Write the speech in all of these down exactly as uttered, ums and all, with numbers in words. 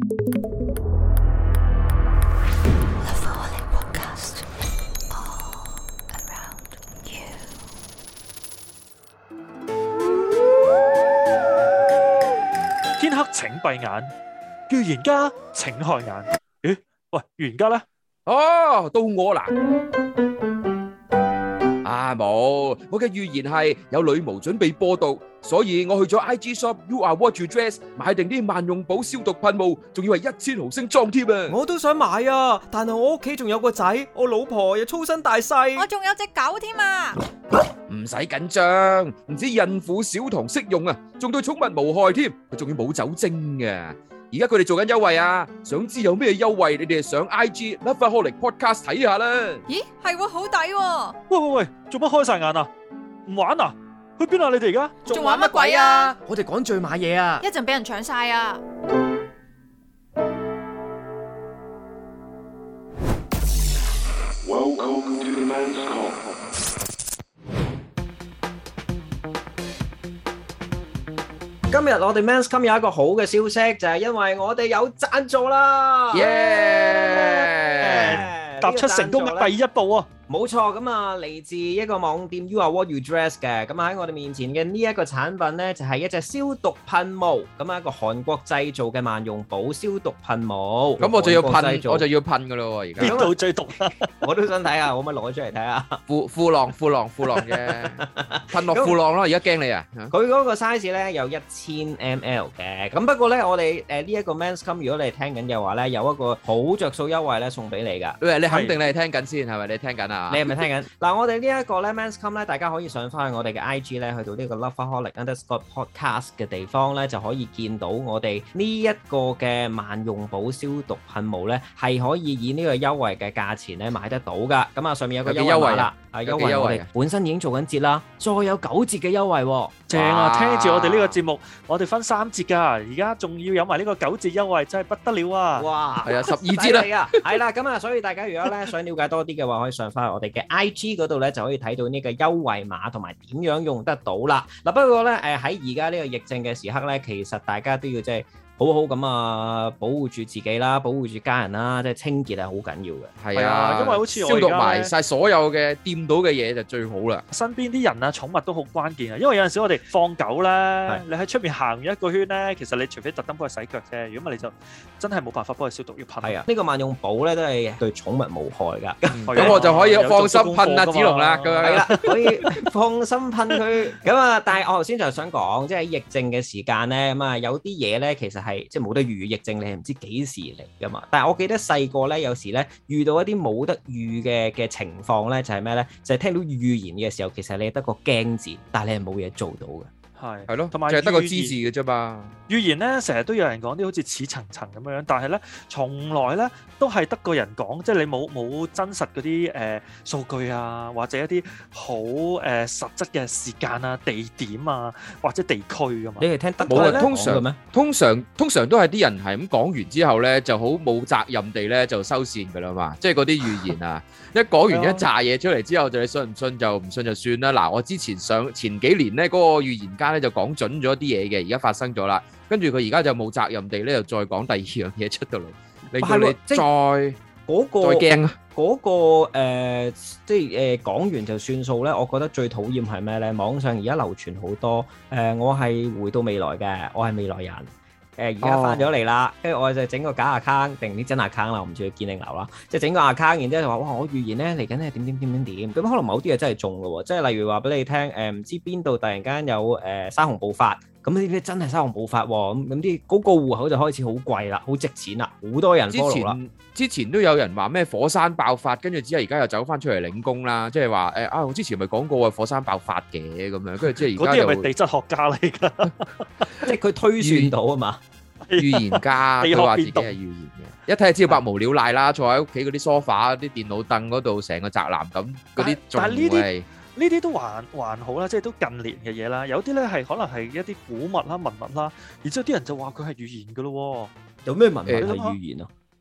天黑請閉眼，預言家請開眼。咦？喂，預言家咧？ 哦，到我啦！啊冇，我嘅預言係有女巫準備播毒，所以我去咗 I G shop You Are What You Dress 買定啲萬用寶消毒噴霧，仲要係一千毫升裝添啊！ 我都想買啊，但係我屋企仲有個仔，我老婆又粗身大細， 我仲有隻狗添啊！ 唔使緊張，唔止孕婦小童適用啊，仲對寵物無害添，佢仲要冇酒精嘅。而家佢哋做緊優惠啊！想知有咩優惠？你哋上 I G Lovaholic Podcast 睇下啦。 咦，係喎，好抵喎！ 喂喂喂，做乜開晒眼啊？唔玩啊？去邊啊？你哋而家仲玩乜鬼啊？ 我哋趕住買嘢啊！ 一陣俾人搶晒啊 ！Welcome to the Men's Come。 今日我哋 Men's Come 有一個好嘅消息，就係因為我哋有贊助啦！ 耶！ 踏出成功嘅第一步啊！ 冇錯，咁啊嚟自一個網店 You Are What You Dress 嘅，咁喺我哋面前嘅呢一個產品呢，就係一隻消毒噴霧，咁啊一個韓國製造嘅萬用寶消毒噴霧。 咁我就要噴，我就要噴噶咯，而家邊度最毒啊？ 我都想睇下，可唔可以攞出嚟睇下？ 褲褲浪褲浪褲浪嘅，噴落褲浪咯！而家驚你啊！ 佢嗰個 size 咧有一千 milliliter 嘅，咁不過咧我哋誒呢一個 Men's Come，如果你係聽緊嘅話咧，有一個好着數優惠咧送俾你噶。 喂，你肯定你係聽緊先係咪？你聽緊啊？ 你係咪聽緊？嗱，我哋呢一個咧 Men's Come 咧，大家可以上翻去我哋嘅 I G 咧，去到呢個 Lovaholic underscore podcast 嘅地方咧，就可以見到我哋呢一個嘅萬用寶消毒噴霧咧，係可以以呢個優惠嘅價錢咧買得到噶。咁啊，上面有個優惠啦，啊優惠我哋本身已經做緊節啦，再有九折嘅優惠， 正啊！聽住我哋呢個節目，我哋分三折噶，而家仲要有埋呢個九折優惠，真係不得了啊！ 哇， 係啊，十二折啦， 係啦，咁啊，所以大家如果咧想了解多啲嘅話，可以上翻我哋嘅 I G 嗰度咧，就可以睇到呢個優惠碼同埋點樣用得到啦。嗱，不過咧，誒喺而家呢個疫症嘅時刻咧，其實大家都要即係好好咁啊，保護住自己啦，保護住家人啦，即係清潔係好緊要嘅。 係啊， 因為好似消毒埋晒所有嘅掂到嘅嘢就最好啦。 身邊啲人啊、寵物都好關鍵啊，因為有陣時我哋放狗咧，你喺出面行完一個圈咧，其實你除非特登幫佢洗腳啫，如果唔係你就真係冇辦法幫佢消毒，要噴。係啊， 呢個萬用寶咧都係對寵物無害㗎。 咁我就可以放心噴阿子龍啦，咁樣。 係啦，可以放心噴佢。咁啊，但係我頭先就想講，即係疫症嘅時間咧，咁啊有啲嘢咧其實係。即係冇得預疫症，你係唔知幾時嚟噶嘛？但係我記得細個咧，有時咧遇到一啲冇得預嘅嘅情況咧，就係咩咧？就係聽到預言嘅時候，其實你係得個驚字，但係你係冇嘢做到嘅。 係係咯， 同埋就係得個知字嘅啫嘛。 預言咧，成日都有人講啲好似似層層咁樣，但係咧，從來咧都係得個人講，即係你冇冇真實嗰啲誒數據啊，或者一啲好誒實質嘅時間啊、地點啊，或者地區噶嘛。 你係聽得冇啊？通常咩？通常通常都係啲人係咁講完之後咧，就好冇責任地咧就收線噶啦嘛。即係嗰啲預言啊，一講完一紮嘢出嚟之後，就你信唔信就唔信就算啦。嗱，我之前上前幾年咧嗰個預言家咧就講準咗啲嘢嘅，而家發生咗啦。跟住佢而家就冇責任地咧，又再講第二樣嘢出到嚟，令到你再嗰、嗰個、再驚啊！ 嗰、嗰個、呃、即係誒講完就算數咧。我覺得最討厭係咩咧？網上而家流傳好多誒、呃，我係回到未來嘅，我係未來人。誒而家翻咗嚟啦，跟住、哦、我就整個假 account 定啲真 account 啦，我唔知佢堅定流啦，即係整個 account，然之後就話哇，我預言咧嚟緊係點點點點點，咁可能某啲嘢真係中嘅喎，即係例如話俾你聽，誒、呃、唔知邊度突然間有誒、呃、山洪暴發。咁呢啲真係山洪暴發喎，咁咁啲嗰個戶口就開始好貴啦，好值錢啦，好多人 follow 啦。 之前都有人話咩火山爆發，跟住之後而家又走翻出嚟領功啦，即係話誒啊！我之前咪講過啊，火山爆發嘅咁樣，跟住即係而家又嗰啲係咪地質學家嚟㗎？ 即係佢推算到啊嘛， 預言家佢話自己係預言嘅，一睇就知道百無聊賴啦，坐喺屋企嗰啲 sofa、啲電腦凳嗰度，成個宅男咁嗰啲仲係。 呢啲都還還好啦，即係都近年嘅嘢啦。有啲咧係可能係一啲古物啦、文物啦，然之後啲人就話佢係預言㗎咯。 有咩文物係預言啊？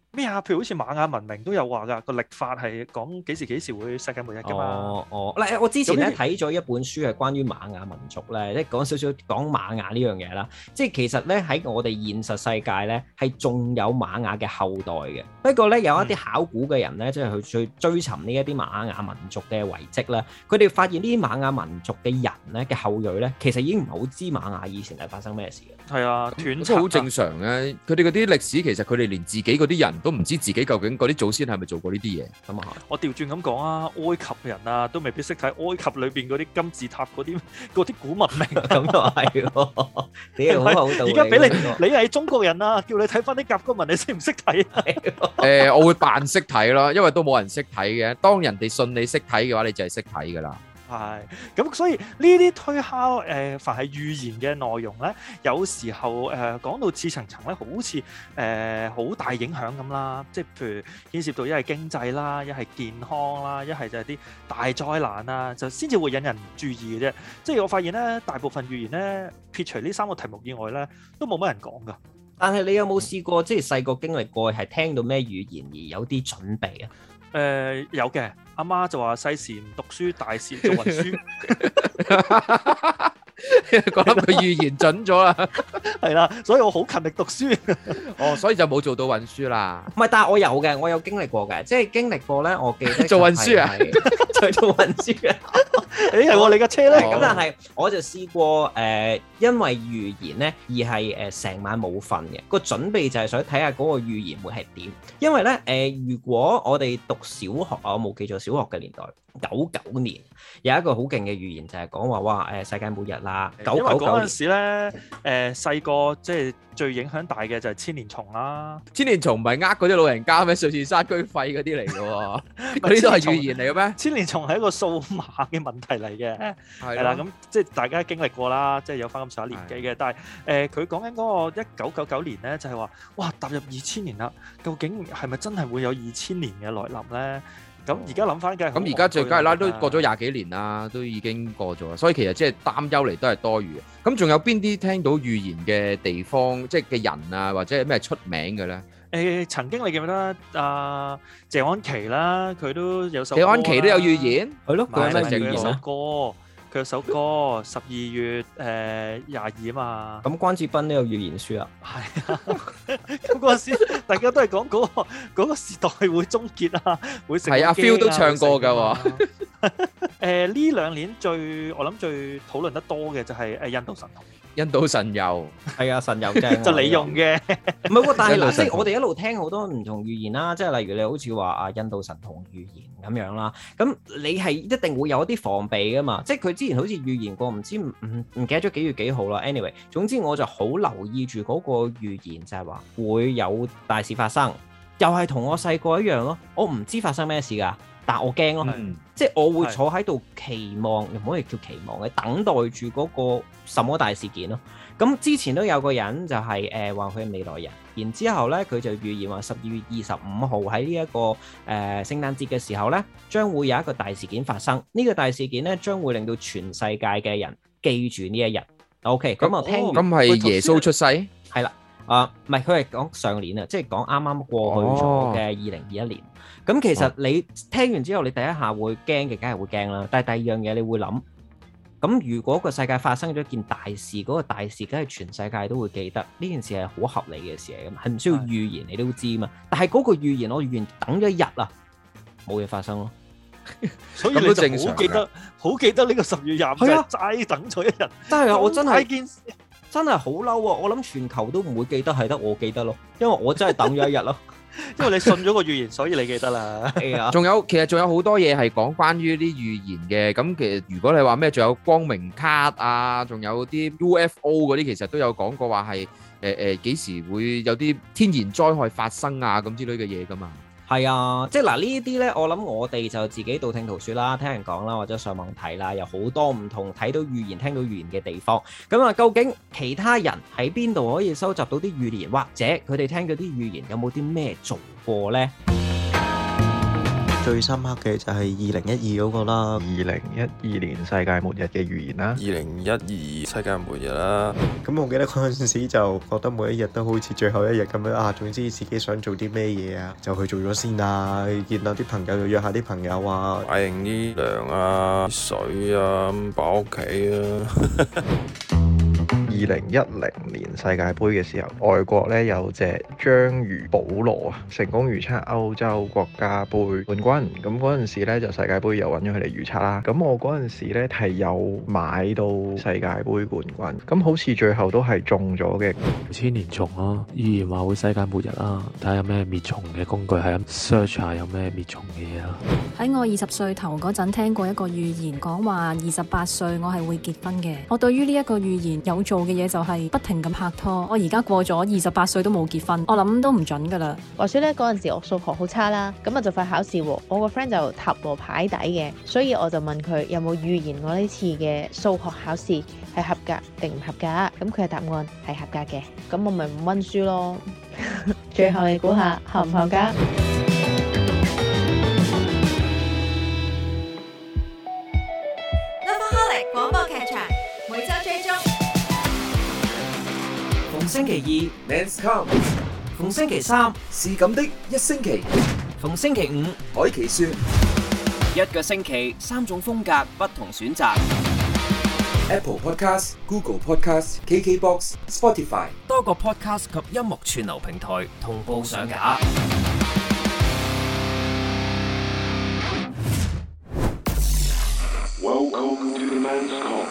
咩啊？譬如好似瑪雅文明都有話㗎，個曆法係講幾時幾時會世界末日㗎嘛。 哦哦，嗱，我之前咧睇咗一本書係關於瑪雅民族咧，即係講少少講瑪雅呢樣嘢啦。即係其實咧喺我哋現實世界咧係仲有瑪雅嘅後代嘅。不過咧有一啲考古嘅人咧，即係去追追尋呢一啲瑪雅民族嘅遺跡啦，佢哋發現呢啲瑪雅民族嘅人咧嘅後裔咧，其實已經唔係好知瑪雅以前係發生咩事嘅。 係啊，斷即係好正常嘅。佢哋嗰啲歷史其實佢哋連自己嗰啲人都唔知自己究竟嗰啲祖先係咪做過呢啲嘢。咁啊， 我調轉咁講啊，埃及人啊都未必識睇埃及裏邊嗰啲金字塔嗰啲嗰啲古文明。 咁又係喎，你好好道理。 而家俾你，你係中國人啊，叫你睇翻啲甲骨文，你識唔識睇啊？ 誒，我會扮識睇咯，因為都冇人識睇嘅。當人哋信你識睇嘅話，你就係識睇㗎啦。 係，咁所以呢啲推敲誒、呃，凡係預言嘅內容咧，有時候誒、呃、講到似層層咧，好似誒好大影響咁啦。即係譬如牽涉到一係經濟啦，一係健康啦，一係就係啲大災難啦，就先至會引人注意嘅啫。即係我發現咧，大部分預言咧，撇除呢三個題目以外咧，都冇乜人講㗎。 但係你有冇試過即係細個經歷過係聽到咩語言而有啲準備啊？ 誒、呃、有嘅，阿媽就話細時唔讀書，大時做運輸。 覺得佢預言準咗啦， 係啦，所以我好勤力讀書。 哦，所以就冇做到運輸啦。 唔係，但係我有嘅，我有經歷過嘅，即係經歷過咧。我記得做運輸啊， 做做運輸啊。 誒係喎，你架車咧？ 咁但係我就試過誒，因為預言咧而係誒成晚冇瞓嘅。個準備就係想睇下嗰個預言會係點。因為咧誒，如果我哋讀小學啊，我冇記錯小學嘅年代，九九年有一個好勁嘅預言就係講話哇誒世界末日啦。九九九年嗰陣時咧，誒細個即係最影響大嘅就係千年蟲啦。 千年蟲唔係呃嗰啲老人家咩？瑞士山居費嗰啲嚟嘅喎，嗰啲都係預言嚟嘅咩？ 千年蟲係一個數碼嘅問題嚟嘅，係啦， 係咁即係大家經歷過啦，即係有翻咁上下年紀嘅。但係誒，佢講緊嗰個一九九九年咧，就係話哇踏入二千年啦，究竟係咪真係會有二千年嘅來臨咧？咁而家諗翻嘅， 咁而家最梗係啦，都過咗廿幾年啦，都已經過咗啦，所以其實即係擔憂嚟都係多餘嘅。咁仲有邊啲聽到預言嘅地方，即係嘅人啊，或者係咩出名嘅咧？ 誒，曾經你記唔記得阿謝安琪啦？佢都有首謝安琪都有預言， 係咯，佢有咩佢有首預言啊？ 歌。佢有首歌十二月誒廿二啊嘛， 咁關智斌都有預言書啊， 係啊，咁嗰陣時大家都係講嗰個嗰個時代會終結啊，會成係啊 Phil 都唱過㗎喎。 誒呢兩年最我諗最討論得多嘅就係誒印度神童。 印度神油係啊，神油正就你用嘅， 唔係喎。但係嗱，即係我哋一路聽好多唔同預言啦，即係例如你好似話啊印度神童預言咁樣啦，咁你係一定會有一啲防備噶嘛。即係佢之前好似預言過，唔知唔唔唔記得咗幾月幾號啦。anyway，總之我就好留意住嗰個預言，就係話會有大事發生，又係同我細個一樣咯。我唔知發生咩事㗎。但我驚咯， 嗯、 即係我會坐喺度期望，又唔可以叫期望嘅，等待住嗰個什麼大事件咯。咁之前都有個人就係誒話佢係未來人，然之後咧佢就預言話十二月二十五號喺呢一個誒、呃、聖誕節嘅時候咧，將會有一個大事件發生。呢、這個大事件咧將會令到全世界嘅人記住呢一日。OK，咁我聽完咁係耶穌出世係啦，啊唔係佢係講上年啊，即係講啱啱過去咗嘅二零二一年。咁、哦、其實你聽完之後，你第一下會驚嘅，梗係會驚啦。但係第二樣嘢，你會諗，咁如果個世界發生咗一件大事，嗰、嗰個大事梗係全世界都會記得，呢件事係好合理嘅事嚟嘅，係唔需要預言你都知嘛。但係嗰個預言我預言等咗一日啊，冇嘢發生咯。 所以你就好記得，好記得呢個十月廿五就齋等咗一日。真係啊，我真係件事真係好嬲啊！我諗全球都唔會記得，係得我記得咯，因為我真係等咗一日咯。 因為你信咗個預言，所以你記得啦。係啊， 仲有其實仲有好多嘢係講關於啲預言嘅。咁其實如果你話咩，仲有光明卡啊，仲有啲 U F O 嗰啲，其實都有講過話係誒誒幾時會有啲天然災害發生啊咁之類嘅嘢噶嘛。 係啊，即係嗱呢啲咧，我諗我哋就自己道聽途說啦，聽人講啦，或者上網睇啦，有好多唔同睇到預言、聽到預言嘅地方。咁啊，究竟其他人喺邊度可以收集到啲預言，或者佢哋聽嗰啲預言有冇啲咩做過呢？ 最深刻嘅就係二零一二嗰個啦， 二零一二年世界末日嘅預言啦， 二零一二世界末日啦。 咁我記得嗰陣時就覺得每一日都好似最後一日咁樣啊，總之自己想做啲咩嘢啊，就去做咗先啊，見到啲朋友就約下啲朋友啊， 買定啲糧啊、水啊，擺屋企啊。 二零一零年世界盃嘅時候，外國咧有隻章魚保羅啊，成功預測歐洲國家盃冠軍。咁嗰陣時咧就世界盃又揾咗佢嚟預測啦。咁我嗰陣時咧係有買到世界盃冠軍，咁好似最後都係中咗嘅。 千年蟲咯，預言話會世界末日啦，睇下有咩滅蟲嘅工具，係咁 search 下有咩滅蟲嘅嘢啦。 喺我二十歲頭嗰陣聽過一個預言，講話二十八歲我係會結婚嘅。我對於呢一個預言有做嘅嘢就係不停咁拍拖。我而家過咗二十八歲都冇結婚，我諗都唔準噶啦。 話說咧，嗰陣時我數學好差啦，咁啊就快考試喎。我個 friend 就塔羅牌底嘅，所以我就問佢有冇預言我呢次嘅數學考試係合格定唔合格。咁佢嘅答案係合格嘅，咁我咪唔溫書咯。最後你估下合唔合格 ？Lovaholic 廣播劇場每周追蹤， 逢星期二 Men's Come， 逢星期三是咁的一星期，逢星期五海奇說，一個星期三種風格不同選擇。Apple Podcast、Google Podcast、K K Box、Spotify 多個 Podcast 及音樂串流平台同步上架。 Welcome to the Men's Come。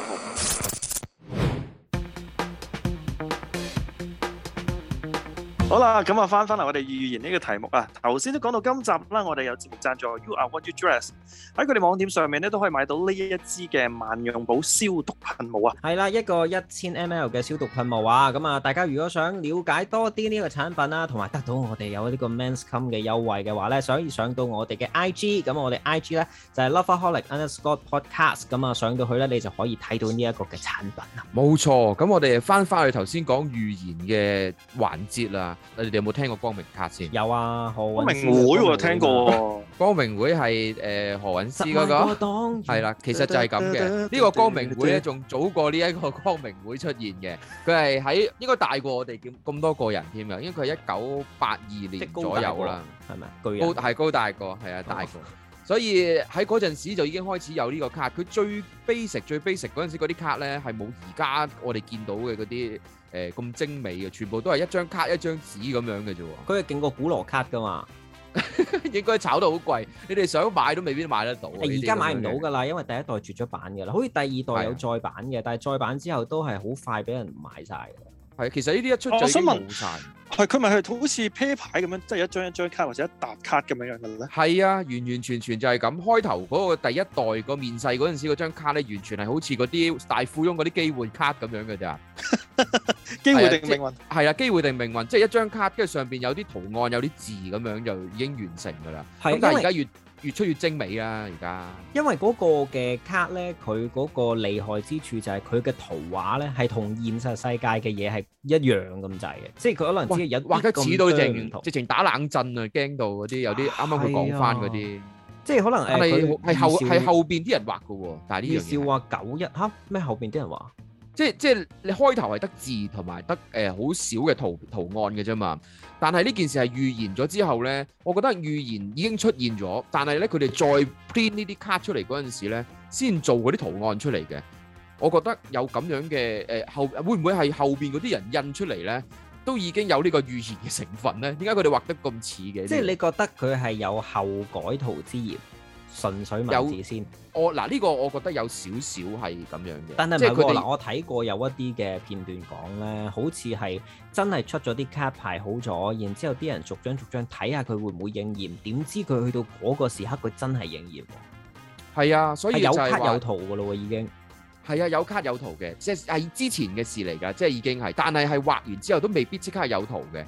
好啦，咁啊翻翻嚟我哋預言呢個題目啊，頭先都講到今集啦，我哋有節目贊助 You Are What You Dress， 喺佢哋網店上面咧都可以買到呢一支嘅萬用寶消毒噴霧啊。 係啦，一個一千 M L 嘅消毒噴霧啊，咁啊大家如果想了解多啲呢個產品啦，同埋得到我哋有呢個 Men's Come 嘅優惠嘅話咧，所以上到我哋嘅 I G， 咁我哋 I G 咧就係 Lovaholic underscore podcast， 咁啊上到去咧你就可以睇到呢一個嘅產品啦。 冇錯，咁我哋翻翻去頭先講預言嘅環節啦。你哋有冇聽過光明卡先？ 有啊，何光明會我聽過。 光明會係誒何韻詩嗰個，係啦，其實就係咁嘅。呢個光明會咧，仲早過呢一個光明會出現嘅。佢係喺應該大過我哋咁咁多個人添嘅，因為佢係一九八二年左右啦， 係咪？巨人高係高大個，係啊，大個。所以喺嗰陣時就已經開始有呢個卡。佢最 basic 最 basic 嗰陣時嗰啲卡咧係冇而家我哋見到嘅嗰啲誒咁精美嘅，全部都係一張卡一張紙咁樣嘅啫喎。 佢係勁過古羅卡噶嘛， 應該炒到好貴，你哋想買都未必買得到。 而家買唔到㗎啦，因為第一代絕咗版㗎啦，好似第二代有再版嘅，但係再版之後都係好快俾人買曬㗎。 係，其實呢啲一出就已經冇曬。 係佢咪係好似啤牌咁樣，即係一張一張卡或者一沓卡咁樣樣嘅咧？ 係啊，完完全全就係咁。開頭嗰個第一代個面世嗰陣時，嗰張卡咧完全係好似嗰啲大富翁嗰啲機會卡咁樣嘅咋。 機會定命運？ 係啊，機會定命運，即係一張卡，跟住上邊有啲圖案，有啲字咁樣就已經完成㗎啦。咁但係而家越越出越精美啦，而家。因為嗰個嘅卡咧，佢嗰個厲害之處就係佢嘅圖畫咧，係同現實世界嘅嘢係一樣咁滯嘅，即係佢可能只係有畫得似到直直情打冷震啊，驚到嗰啲有啲啱啱佢講翻嗰啲， 即係可能誒佢係後係後邊啲人畫嘅喎，但係呢樣嘢。 笑話九一嚇咩後邊啲人畫？ 即係即係你開頭係得字同埋得誒好少嘅圖圖案嘅啫嘛，但係呢件事係預言咗之後咧，我覺得預言已經出現咗，但係咧佢哋再 print 呢啲卡出嚟嗰陣時咧，先做嗰啲圖案出嚟嘅。我覺得有咁樣嘅誒後會唔會係後邊嗰啲人印出嚟咧，都已經有呢個預言嘅成分咧？點解佢哋畫得咁似嘅？ 即係你覺得佢係有後改圖之嫌？純粹文字先， 我嗱呢個我覺得有少少係咁樣嘅， 但係唔係喎嗱，我睇過有一啲嘅片段講咧，好似係真係出咗啲卡排好咗，然之後啲人逐張逐張睇下佢會唔會應驗，點知佢去到嗰個時刻佢真係應驗喎。 係啊，所以有卡有圖㗎咯喎，已經係啊，有卡有圖嘅，即係之前嘅事嚟㗎，即係已經係，但係係畫完之後都未必即刻有圖嘅。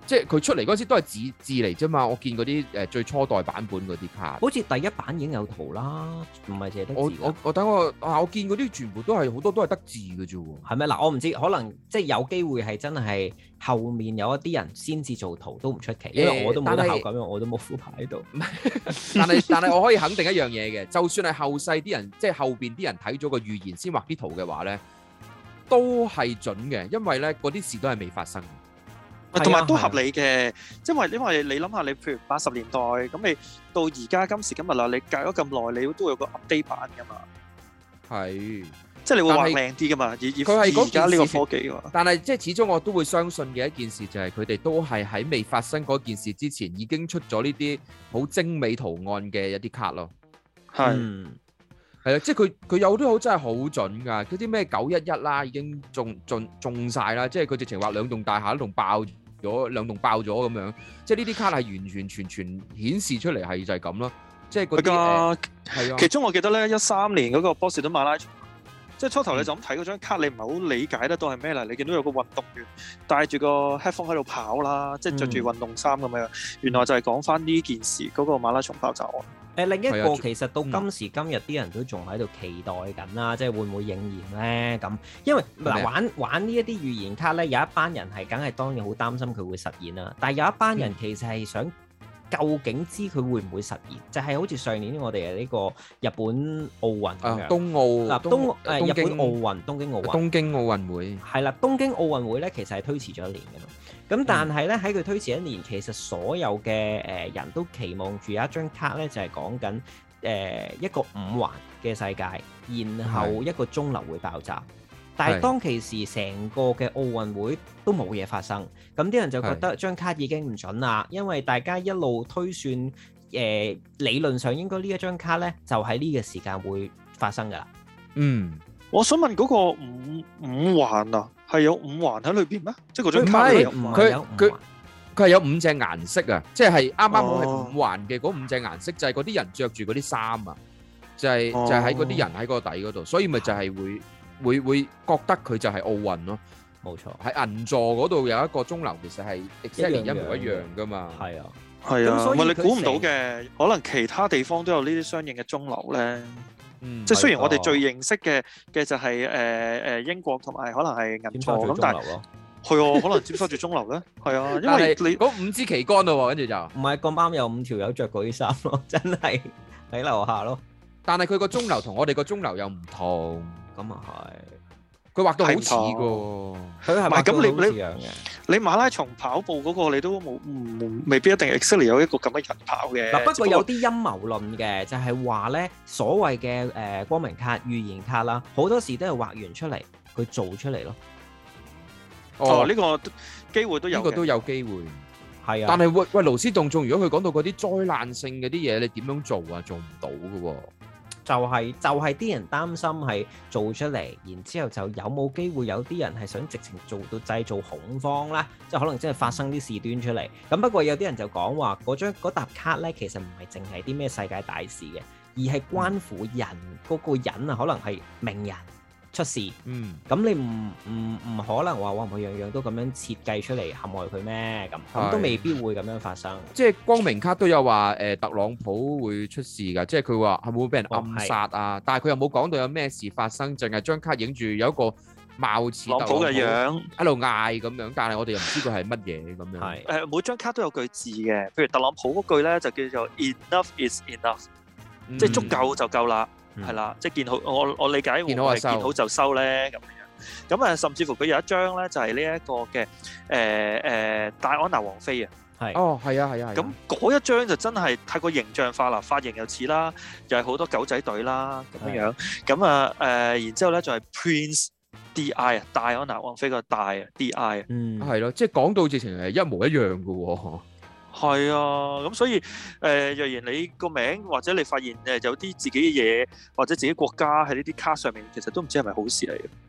即係佢出嚟嗰時都係字字嚟啫嘛。我見嗰啲誒最初代版本嗰啲卡， 好似第一版已經有圖啦，唔係淨係得字。 我我我等我啊，我見嗰啲全部都係好多都係得字嘅啫喎。 係咪嗱？我唔知，可能即係有機會係真係後面有一啲人先至做圖都唔出奇，因為我都冇得考咁樣，我都冇副牌喺度。 但係但係我可以肯定一樣嘢嘅，就算係後世啲人，即係後邊啲人睇咗個預言先畫啲圖嘅話咧，都係準嘅，因為咧嗰啲事都係未發生。 同埋都合理嘅，因為因為你諗下，你譬如八十年代咁，你到而家今時今日啦，你隔咗咁耐，你都會有個 update 版噶嘛。 係， 即係你會畫靚啲噶嘛？以以佢係而家呢個科技㗎。 但係即係始終我都會相信嘅一件事就係佢哋都係喺未發生嗰件事之前已經出咗呢啲好精美圖案嘅一啲卡咯。 係。 係啊，即係佢佢有啲好真係好準㗎，嗰啲咩九一一啦，已經中中中曬啦，即係佢直情話兩棟大廈都同爆咗，兩棟爆咗咁樣，即係呢啲卡係完完全全顯示出嚟係就係咁咯，即係嗰啲誒係啊。 其中我記得咧，一三年嗰個波士頓馬拉松，即係初頭你就咁睇嗰張卡，你唔係好理解得到係咩嚟，你見到有個運動員戴住個 headphone 喺度跑啦，即係着住運動衫咁樣，原來就係講翻呢件事嗰個馬拉松爆炸案。 誒另一個其實到今時今日啲人都仲喺度期待緊啦，即係會唔會應驗咧？咁因為嗱玩玩呢一啲預言卡咧，有一班人係梗係當然好擔心佢會實現啦，但係有一班人其實係想究竟知佢會唔會實現，就係好似上年我哋嘅呢個日本奧運咁樣， 東奧嗱東誒日本奧運東京奧運東京奧運會係啦，東京奧運會咧其實係推遲咗一年嘅嘛。咁但係咧喺佢推遲一年，其實所有嘅誒人都期望住有一張卡咧，就係講緊誒一個五環嘅世界，然後一個鐘樓會爆炸。但係當其時成個嘅奧運會都冇嘢發生，咁啲人就覺得張卡已經唔準啦，因為大家一路推算誒、呃、理論上應該呢一張卡咧就喺呢個時間會發生㗎啦。 嗯， 我想問嗰個五五環啊，係有五環喺裏邊咩？即係嗰張卡係有五環。 佢佢佢係有五隻顏色啊，即係啱啱好係五環嘅嗰五隻顏色，就係嗰啲人着住嗰啲衫啊，就係、 哦、 就係喺嗰啲人喺個底嗰度，所以咪就係會會會覺得佢就係奧運咯。 冇錯， 喺銀座嗰度有一個鐘樓，其實係 exactly 一模一樣噶嘛。 係啊， 係啊，唔係你估唔到嘅，可能其他地方都有呢啲相應嘅鐘樓咧。嗯，即係雖然我哋最認識嘅嘅就係誒誒英國同埋可能係銀座咁，但係係啊，可能尖沙咀鐘樓咧，係啊，因為你嗰五支旗杆咯，跟住就唔係咁啱有五條友着嗰啲衫咯，真係喺樓下咯。 但係佢個鐘樓同我哋個鐘樓又唔同， 咁啊係。 佢畫到好似㗎， 佢係咪咁你你你馬拉松跑步嗰個你都冇唔未必一定 exactly 有一個咁嘅人跑嘅。 嗱，不過有啲陰謀論嘅，就係話咧所謂嘅誒光明卡、預言卡啦，好多時都係畫完出嚟，佢做出嚟咯。 哦，呢個機會都有， 呢個都有機會。 係啊， 但係喂喂勞師動眾，如果佢講到嗰啲災難性嘅啲嘢，你點樣做啊？做唔到㗎喎。 就係就係啲人擔心係做出嚟，然之後就有冇機會有啲人係想直情做到製造恐慌啦，即係可能真係發生啲事端出嚟。咁不過有啲人就講話嗰張嗰沓卡咧，其實唔係淨係啲咩世界大事嘅，而係關乎人嗰、嗯、個人啊，可能係名人出事。嗯，咁你唔唔唔可能話哇，我樣樣都咁樣設計出嚟陷害佢咩？咁咁都未必會咁樣發生。 即係光明卡都有話誒、呃，特朗普會出事㗎，即係佢話係會俾人暗殺啊，哦、但係佢又冇講到有咩事發生，淨係張卡影住有一個貌似特朗普嘅樣喺度嗌咁樣，但係我哋又唔知佢係乜嘢咁樣。係誒，每張卡都有句字嘅，譬如特朗普嗰句咧就叫做 Enough is enough，、嗯、即係足夠就夠啦。係啦，即係見好，我我理解會唔會係見好就收咧咁樣。咁啊，甚至乎佢有一張咧，就係呢一個嘅誒誒戴安娜王妃啊。 係。 哦，係啊，係啊。 咁嗰一張就真係太過形象化啦，髮型又似啦，又係好多狗仔隊啦咁樣樣。咁啊誒，然之後咧就係 Prince D I 啊，戴安娜王妃個戴啊 D I 啊。 嗯。係咯，即係講到直情係一模一樣嘅喎。 係啊，咁所以誒、呃，若然你個名或者你發現誒有啲自己嘅嘢或者自己國家喺呢啲卡上面，其實都唔知係咪好事嚟嘅。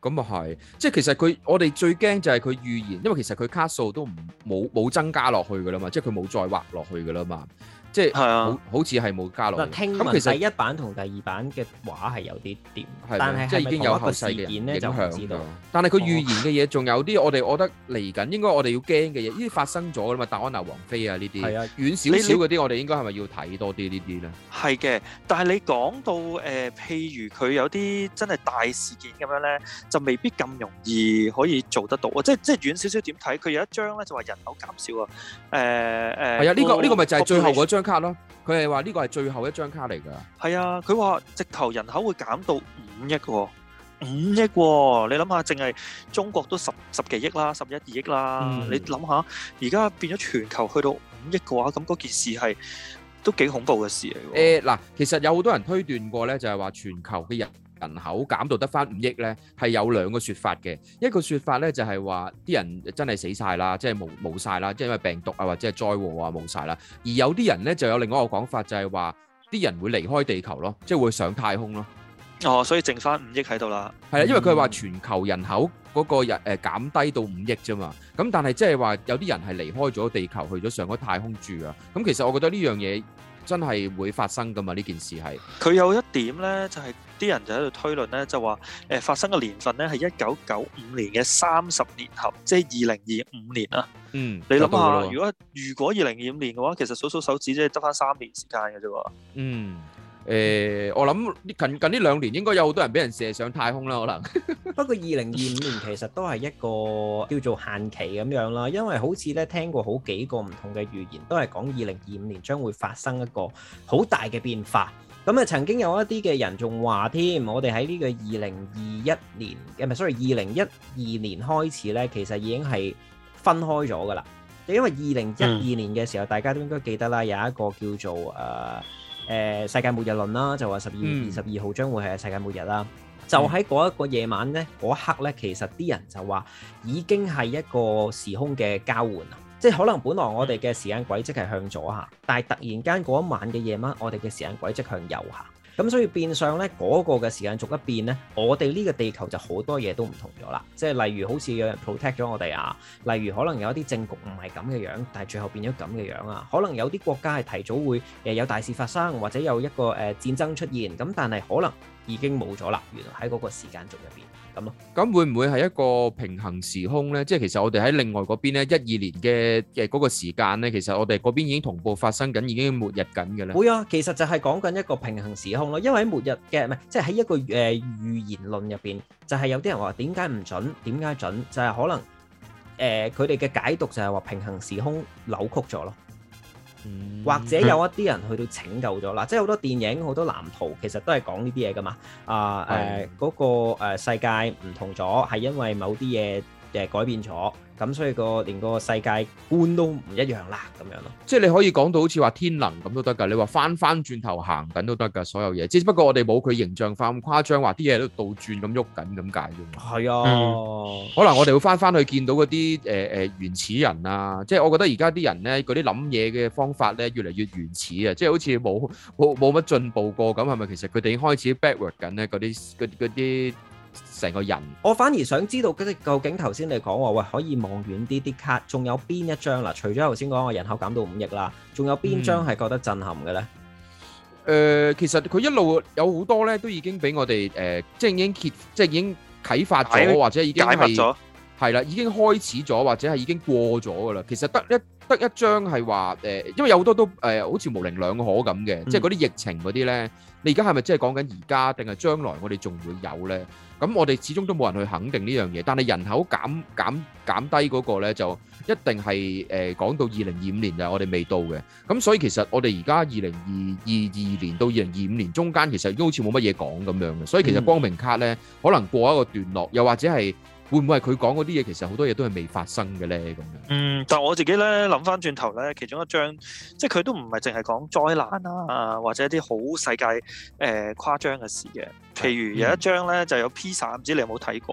咁啊係，即係其實佢我哋最驚就係佢預言，因為其實佢卡數都唔冇冇增加落去噶啦嘛，即係佢冇再畫落去噶啦嘛。即係好好似係冇加落去。 聽聞第一版同第二版嘅畫係有啲點，但係即係已經有後世嘅人影響。但係佢預言嘅嘢仲有啲，我哋我覺得嚟緊應該我哋要驚嘅嘢，呢啲發生咗啦嘛，戴安娜王妃啊呢啲，遠少少嗰啲，我哋應該係咪要睇多啲呢啲咧？ 係嘅，但係你講到誒、呃，譬如佢有啲真係大事件咁樣咧，就未必咁容易可以做得到啊！即係即係遠少少點睇，佢有一張咧就話人口減少啊，誒、呃、誒。係、呃、 啊，呢、這個呢、這個咪就係最後嗰張卡咯。佢係話呢個係最後一張卡嚟㗎。 係啊，佢話直頭人口會減到五億喎，五億喎！你諗下，淨係中國都十十幾億啦，十一二億啦。嗯、你諗下，而家變咗全球去到五億嘅話，咁嗰件事係都幾恐怖嘅事嚟。 誒嗱、呃，其實有好多人推斷過咧，就係話全球嘅人人口減到得翻五億咧，係有兩個説法嘅。一個説法咧就係話啲人真係死晒啦，即係冇冇曬啦，即係因為病毒啊或者係災禍啊冇晒啦。而有啲人咧就有另外一個講法，就係話啲人會離開地球咯，即係會上太空咯。 哦，所以剩翻五億喺度啦。 係啊，因為佢係話全球人口嗰個人誒減低到五億啫嘛。咁但係即係話有啲人係離開咗地球去咗上咗太空住啊。咁其實我覺得呢樣嘢真係會發生噶嘛？呢件事係佢有一點咧，就係、是、啲人就喺度推論咧，就話誒、呃、發生嘅年份咧係一九九五年嘅三十年後，即係二零二五年啊。嗯，你諗下，如果如果二零二五年嘅話，其實數數手指即係得翻三年時間嘅啫喎。 嗯。誒、呃，我諗近近呢兩年應該有好多人俾人射上太空啦，可能。 不過二零二五年其實都係一個叫做限期咁樣啦，因為好似咧聽過好幾個唔同嘅預言，都係講二零二五年將會發生一個好大嘅變化。咁啊，曾經有一啲嘅人仲話添，我哋喺呢個二零二一年，唔係 sorry， 二零一二年開始咧，其實已經係分開咗噶啦。因為二零一二年嘅時候，嗯、大家都應該記得啦，有一個叫做誒。呃誒、呃、世界末日論啦，就話十二月二十二號將會係世界末日啦。嗯、就喺嗰一個夜晚咧，嗰一刻咧，其實啲人就話已經係一個時空嘅交換啊！即係可能本來我哋嘅時間軌跡係向左下，但係突然間嗰一晚嘅夜晚，我哋嘅時間軌跡向右下。咁所以變相咧，嗰、那個嘅時間逐一變咧，我哋呢個地球就好多嘢都唔同咗啦。即係例如好似有人 protect 咗我哋啊，例如可能有一啲政局唔係咁嘅樣，但係最後變咗咁嘅樣啊。可能有啲國家係提早會誒有大事發生，或者有一個誒、呃、戰爭出現，咁但係可能已經冇咗啦。原來喺嗰個時間軸入邊。咁咯，咁會唔會係一個平衡時空咧？即係其實我哋喺另外嗰邊咧，一二年嘅嘅嗰個時間咧，其實我哋嗰邊已經同步發生緊，已經末日緊嘅咧。 會啊，其實就係講緊一個平衡時空咯。因為喺末日嘅唔係，即係喺一個誒、呃、預言論入邊，就係、是、有啲人話點解唔準？點解準？就係、是、可能誒佢哋嘅解讀就係話平衡時空扭曲咗咯。或者有一啲人去到拯救咗啦，即係好多電影、好多藍圖，其實都係講呢啲嘢噶嘛。啊誒嗰個誒世界唔同咗，係因為某啲嘢誒改變咗，咁所以個連個世界觀都唔一樣啦，咁樣咯。 即係你可以講到好似話天能咁都得㗎，你話翻翻轉頭行緊都得㗎，所有嘢。只不過我哋冇佢形象化咁誇張，話啲嘢都倒轉咁喐緊咁解啫。 係啊， 嗯、可能我哋會翻翻去見到嗰啲誒誒原始人啊，即係我覺得而家啲人咧嗰啲諗嘢嘅方法咧越嚟越原始啊，即係好似冇冇冇乜進步過咁，係咪其實佢哋已經開始 backward 緊咧？嗰啲嗰嗰啲。成個人， 我反而想知道究竟頭先你講話喂可以望遠啲啲卡，仲有邊一張啦？除咗頭先講話人口減到五億啦，仲有邊張係覺得震撼嘅咧？誒、 嗯呃，其實佢一路有好多咧，都已經俾我哋誒、呃，即係已經揭，即係已經啟發咗，或者已經係係啦，已經開始咗，或者係已經過咗噶啦。其實得一得一張係話誒，因為有好多都誒、呃，好似模棱兩可咁嘅，嗯、即係嗰啲疫情嗰啲咧，你而家係咪即係講緊而家定係將來我哋仲會有咧？咁我哋始終都冇人去肯定呢樣嘢，但係人口減減減低嗰個咧，就一定係誒講到二零二五年就係我哋未到嘅。咁所以其實我哋而家二零二二二年到二零二五年中間，其實已經好似冇乜嘢講咁樣嘅。所以其實光明卡咧，可能過一個段落，又或者係會唔會係佢講嗰啲嘢，其實好多嘢都係未發生嘅咧咁樣。嗯， 但係我自己咧諗翻轉頭咧，其中一張即係佢都唔係淨係講災難啊，或者一啲好世界誒、呃、誇張嘅事嘅。譬如有一張咧就有披薩，唔知你有冇睇過？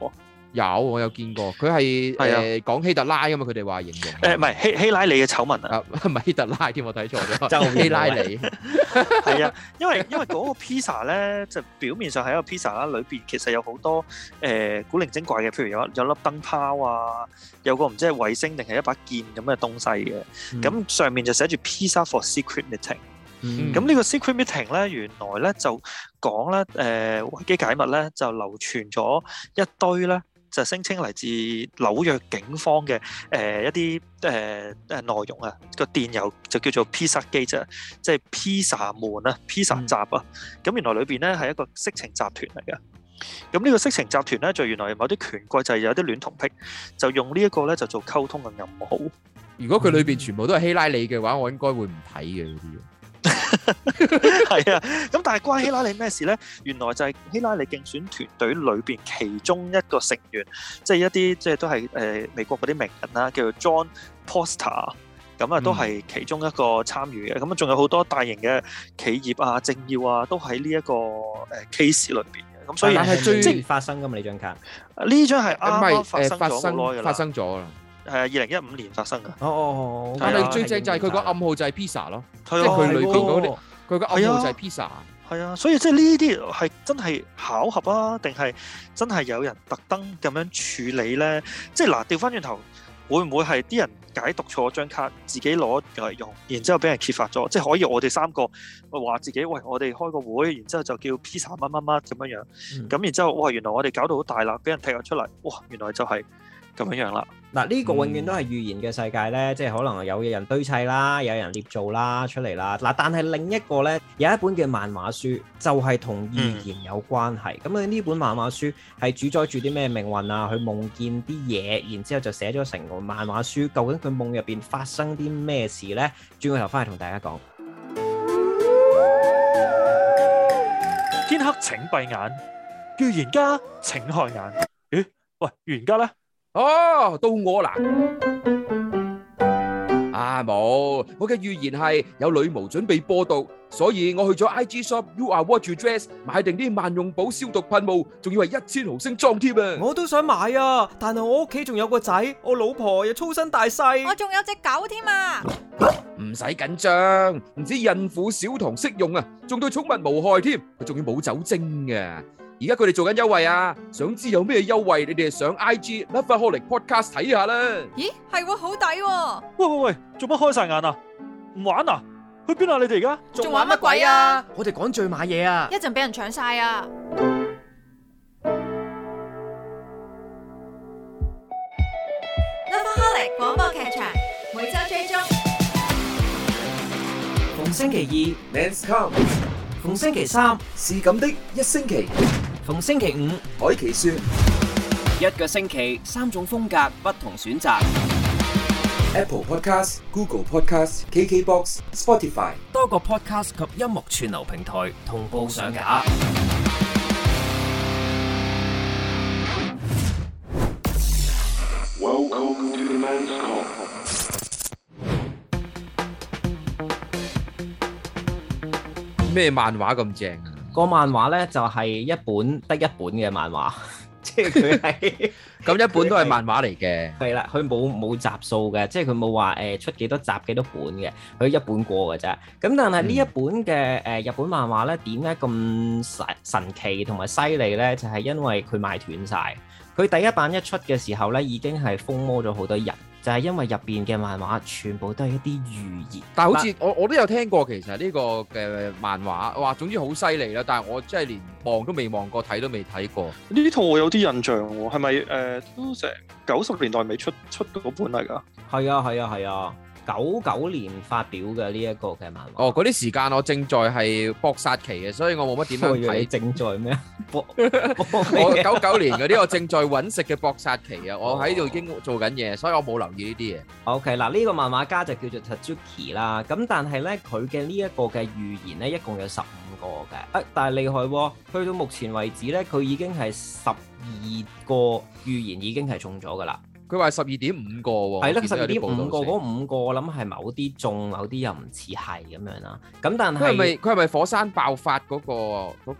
有，我有見過，佢係誒講希特拉㗎嘛，佢哋話形容誒唔係希希拉里嘅醜聞啊， 唔係希特拉添，我睇錯咗， 就希拉里係啊，因為因為嗰個 pizza 咧，就表面上係一個 pizza 啦，裏邊其實有好多誒、呃、古靈精怪嘅，譬如有有粒燈泡啊，有個唔知係衛星定係一把劍咁嘅東西嘅，咁、嗯、上面就寫住 pizza for secret meeting。咁呢、嗯、個 secret meeting 咧，原來咧就講咧，誒、呃、維基解密咧就流傳咗一堆咧，就聲稱嚟自紐約警方嘅誒、呃、一啲誒誒內容啊，個電郵就叫做 Pizza Gate 啫，即係 pizza 門啊 ，pizza 閘啊，咁、嗯、原來裏邊咧係一個色情集團嚟嘅。咁呢個色情集團咧，就原來某啲權貴就係有啲戀童癖，就用呢一個咧就做溝通嘅暗號。 如果佢裏邊全部都係希拉里嘅話，我應該會唔睇嘅嗰啲。 係啊，咁但係關希拉里咩事咧？原來就係希拉里競選團隊裏邊其中一個成員，即係一啲即係都係誒美國嗰啲名人啦，叫做 John Podesta，咁啊都係其中一個參與嘅。咁啊仲有好多大型嘅企業啊、政要啊，都喺呢一個誒 case 裏邊嘅。咁所以係最即發生噶嘛呢張卡？ 呢張係啱啱發生咗好耐噶啦， 發生咗啦。 係啊，二零一五年發生噶。 哦哦， 但係最正就係佢個暗號就係 pizza 咯，即係係佢裏邊嗰啲，佢個暗號就係 pizza。 係啊，所以即係呢啲係真係巧合啊，定係真係有人特登咁樣處理咧？即係嗱，調翻轉頭，會唔會係啲人解讀錯張卡，自己攞嚟用，然之後俾人揭發咗？即係可以我哋三個話自己，喂，我哋開個會，然之後就叫 pizza 乜乜乜咁樣樣，咁、嗯、然之後，哇，原來我哋搞到好大啦，俾人踢咗出嚟，哇，原來就係咁樣樣啦。 嗱，呢個永遠都係預言嘅世界咧，即係可能有人堆砌啦，有人捏造啦出嚟啦。嗱，但係另一個咧，有一本嘅漫畫書就係同預言有關係。咁啊、嗯，呢本漫畫書係主宰住啲咩命運啊？佢夢見啲嘢，然之後就寫咗成個漫畫書。究竟佢夢入邊發生啲咩事咧？轉個頭翻去同大家講。 天黑請閉眼，預言家請開眼。咦？喂，預言家咧？ 哦，到我啦！啊冇，我嘅預言係有女巫準備播毒，所以我去咗 I G shop You Are What You Dress 買定啲萬用寶消毒噴霧，仲要係一千毫升裝添啊！ 我都想買啊，但係我屋企仲有個仔，我老婆又粗身大細， 我仲有隻狗添啊！ 唔使緊張，唔止孕婦小童適用啊，仲對寵物無害添，佢仲要冇酒精嘅。而家佢哋做緊優惠啊！想知有咩優惠？你哋上 I G Lovaholic Podcast 睇下啦。 咦，係喎，好抵喎！ 喂喂喂，做乜開晒眼啊？唔玩啊？去邊啊？你哋而家仲玩乜鬼啊？我哋趕住買嘢啊！ 一陣俾人搶晒啊！Lovaholic 廣播劇場每周追蹤， 逢星期二 Men's Come， 逢星期三是咁的一星期。逢星期五，海奇說一個星期三種風格，不同選擇。Apple Podcast、Google Podcast、K K Box、Spotify 多個 Podcast 及音樂串流平台同步上架。 Welcome to the Men's Come。 咩漫畫咁正啊？ 個漫畫咧就係一本得一本嘅漫畫，即係佢係咁一本都係漫畫嚟嘅。 係啦，佢冇冇集數嘅，即係佢冇話誒出幾多集幾多本嘅，佢一本過嘅啫。咁但係呢一本嘅誒日本漫畫咧，點解咁神神奇同埋犀利咧？就係因為佢賣斷晒。佢第一版一出嘅時候咧，已經係瘋魔咗好多人。就係因為入邊嘅漫畫全部都係一啲預言， 但係好似我我都有聽過，其實呢個嘅漫畫，哇，總之好犀利啦！但係我真係連望都未望過，睇都未睇過。 呢套我有啲印象喎，係咪誒都成九十年代未出出嗰本嚟㗎？ 係啊係啊係啊！九九年發表嘅呢一個嘅漫畫。 哦，嗰啲時間我正在係搏殺期嘅，所以我冇乜點樣睇。 正在咩啊？ 我九九年嗰啲我正在揾食嘅搏殺期啊！我喺度已經做緊嘢，所以我冇留意呢啲嘢。 OK，嗱呢個漫畫家就叫做 Tatsuki 啦。咁但係咧，佢嘅呢一個嘅預言咧，一共有十五個嘅。啊，但係厲害喎！去到目前為止咧，佢已經係十二個預言已經係中咗㗎啦。 佢話十二點五個喎， 係啦，十二點五個嗰五個，我諗係某啲中，某啲又唔似係咁樣啦。咁但係佢係咪佢係咪火山爆發嗰個嗰個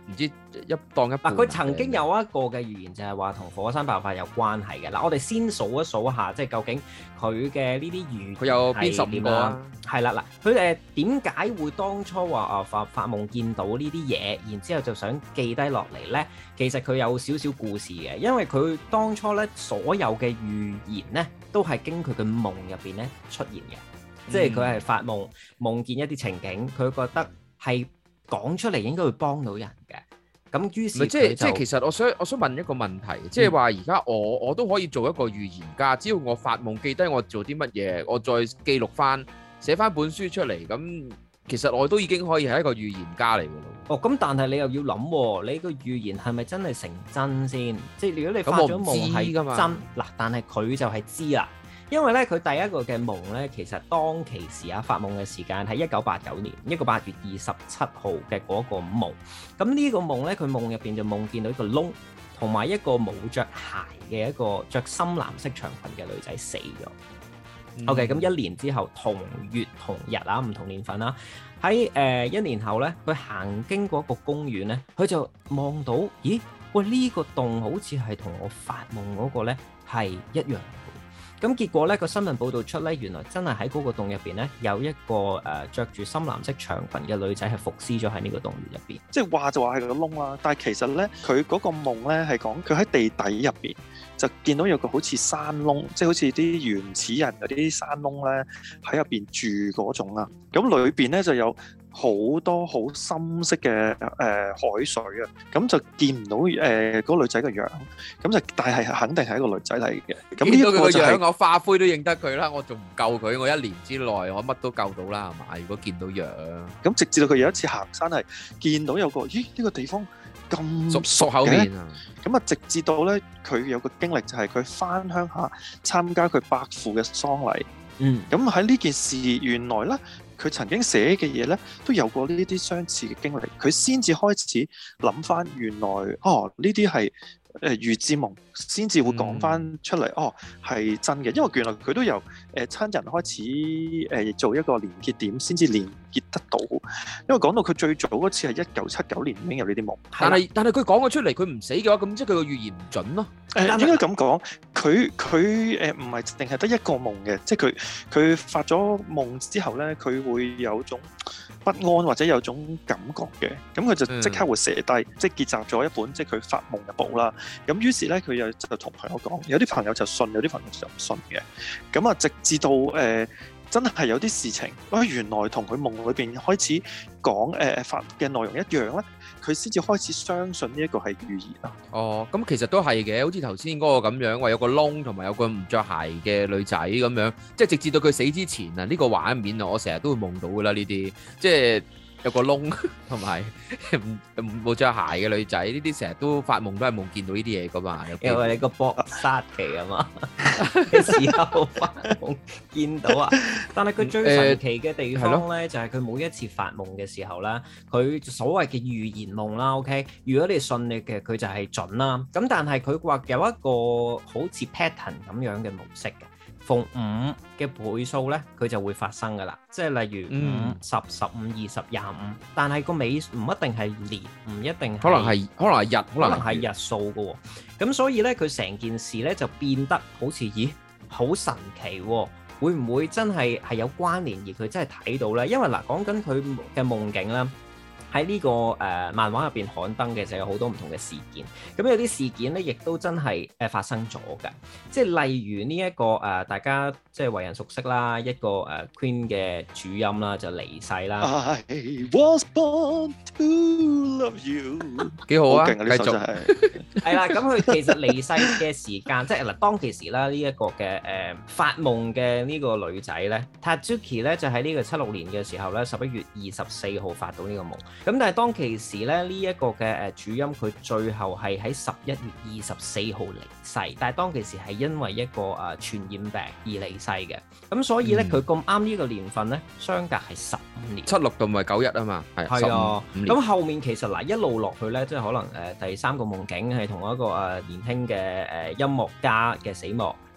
唔知一當一半。 嗱，佢曾經有一個嘅預言就係話同火山爆發有關係嘅。嗱，我哋先數一數一下，即係究竟佢嘅呢啲預言佢有邊十五個啊？ 係啦，嗱，佢誒點解會當初話啊發發夢見到呢啲嘢，然之後就想記低落嚟咧？其實佢有少少故事嘅，因為佢當初咧所有嘅預言咧都係經佢嘅夢入邊咧出現嘅，嗯、即係佢係發夢夢見一啲情景，佢覺得係講出嚟應該會幫到人嘅。咁於是即係即係其實我想我想問一個問題，即係話而家我我都可以做一個預言家，只要我發夢記低我做啲乜嘢，我再記錄翻寫翻本書出嚟，咁其實我都已經可以係一個預言家嚟㗎咯。 哦，咁但係你又要諗喎，你個預言係咪真係成真先？即係如果你發咗夢係真，嗱，但係佢就係知啦。因為咧，佢第一個嘅夢咧，其實當其時啊，發夢嘅時間係一九八九年一個八月二十七號嘅嗰個夢。咁呢個夢咧，佢夢入邊就夢見到一個窿，同埋一個冇着鞋嘅一個着深藍色長裙嘅女仔死咗。嗯、OK，咁一年之後同月同日啊，唔同年份啦。喺誒、呃、一年後咧，佢行經過一個公園咧，佢就望到，咦？喂，呢、這個洞好似係同我發夢嗰個咧係一樣。咁結果咧，個新聞報導出咧，原來真係喺嗰個洞入邊咧，有一個誒著住深藍色長裙嘅女仔係伏屍咗喺呢個洞穴入邊。 即係話就話係個窿啦，但係其實咧，佢嗰個夢咧係講佢喺地底入邊就見到有個好似山窿，即係好似啲原始人嗰啲山窿咧喺入邊住嗰種啊。咁裏邊咧就有好多好深色嘅誒、呃、海水啊，咁就見唔到誒嗰、呃那個女仔嘅樣，咁就但係肯定係一個女仔嚟嘅。咁呢個就係、是、 我化灰都認得佢啦，我仲唔救佢？我一年之內我乜都救到啦，係嘛？如果見到樣， 咁直至到佢有一次行山係見到有個，咦呢、這個地方咁熟熟口面啊！ 咁啊，直至到咧佢有個經歷就係佢返鄉下參加佢伯父嘅喪禮。 嗯， 咁喺呢件事原來咧。佢曾經寫嘅嘢咧，都有過呢啲相似嘅經歷，佢先至開始諗翻原來哦，呢啲係誒預知夢，先至會講翻出嚟、嗯、哦，係真嘅。因為原來佢都由誒、呃、親人開始誒、呃、做一個連結點，先至連結得到。因為講到佢最早嗰次係一九七九年已經有呢啲夢， 但係但係佢講咗出嚟，佢唔死嘅話，咁即係佢個預言唔準咯。 誒、呃、應該咁講，佢佢誒唔係淨係得一個夢嘅，即係佢佢發咗夢之後咧，佢會有種不安或者有種感覺嘅，咁佢就即刻會寫低，嗯、即係結集咗一本即係佢發夢嘅簿啦。咁於是咧，佢又就同朋友講，有啲朋友就信，有啲朋友就唔信嘅。咁啊，直至到誒、呃、真係有啲事情，啊原來同佢夢裏邊開始講誒、呃、發嘅內容一樣咧，佢先至開始相信呢一個係預言啊。 哦，咁其實都係嘅，好似頭先嗰個咁樣，話有個窿同埋有個唔着鞋嘅女仔咁樣，即係直至到佢死之前啊，呢、呢個畫面啊，我成日都會夢到噶啦呢啲，即係。有個窿同埋冇着鞋嘅女仔，呢啲成日都發夢都係夢見到呢啲嘢噶嘛。 因為你個搏殺期啊嘛，嘅時候發夢見到啊。但係佢最神奇嘅地方咧，就係佢每一次發夢嘅時候咧，佢所謂嘅預言夢啦。OK，如果你信你嘅，佢就係準啦。咁但係佢話有一個好似 pattern 咁樣嘅模式嘅。逢五嘅倍數咧，佢就會發生噶啦，即係例如五、十、十五、二十、廿五，但係個尾唔一定係年，唔一定係可能係可能係日， 可能係日數噶喎。咁所以咧，佢成件事咧就變得好似咦，好神奇喎！會唔會真係係有關聯而佢真係睇到咧？因為嗱，講緊佢嘅夢境啦。喺呢、這個誒、呃、漫畫入邊刊登嘅就有好多唔同嘅事件，咁有啲事件咧，亦都真係誒、呃、發生咗嘅，即係例如呢、這、一個誒、呃、大家即係為人熟悉啦，一個誒、呃、Queen 嘅主音啦就離世啦。 I was born to love you， 幾好啊！ 好勁啊！呢首真係係啦，咁佢其實離世嘅時間，即係嗱當其時啦，呢、這、一個嘅誒、呃、發夢嘅呢個女仔咧 Tatsuki 咧就喺呢個七六年嘅時候咧，十一月二十四號發到呢個夢。咁但係當其時咧，呢、這、一個嘅誒主音佢最後係喺十一月二十四號離世，但係當其時係因為一個誒傳染病而離世嘅。咁所以咧，佢咁啱呢個年份咧，相隔係十五年， 七六同埋九一啊嘛，係係啊。咁後面其實嗱一路落去咧，即係可能誒第三個夢境係同一個誒年輕嘅誒音樂家嘅死亡。